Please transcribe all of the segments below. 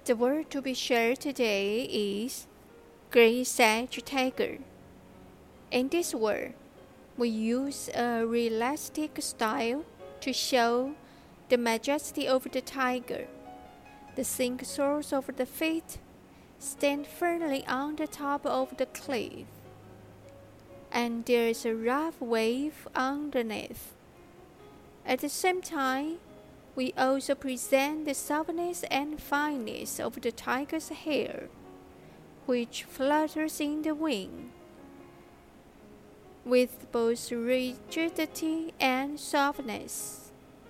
The word to be shared today is Great Sage Tiger. In this word, we use a realistic style to show the majesty of the tiger. The sink soars over the feet, stand firmly on the top of the cliff, and there is a rough wave underneath. At the same time, we also present the softness and fineness of the tiger's hair, which flutters in the wind, with both rigidity and softness.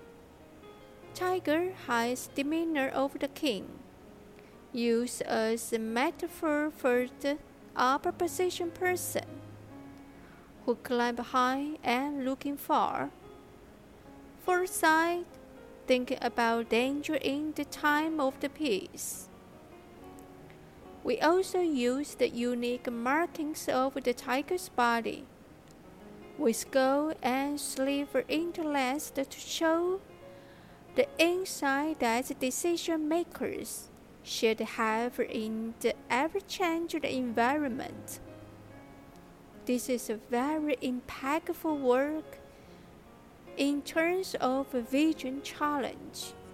Tiger has demeanor of the king, used as a metaphor for the upper position person, who climb high and looking far. Foresight, thinking about danger in the time of the peace. We also use the unique markings of the tiger's body, with skull and sliver interlaced to show the insight that decision makers should have in the ever-changing environment. This is a very impactful work in terms of a vision challenge.